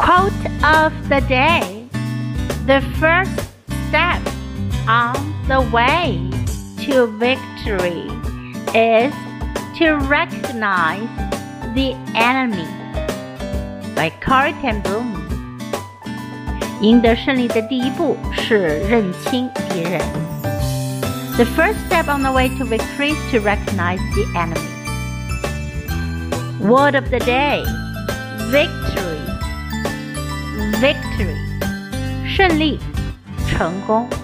Quote of the day. The first step on the way to victory is to recognize the enemy. By Corrie ten Boom. 赢得胜利的第一步是认清敌人。The first step on the way to victory is to recognize the enemy. Word of the day. Victory. Victory. 胜利，成功。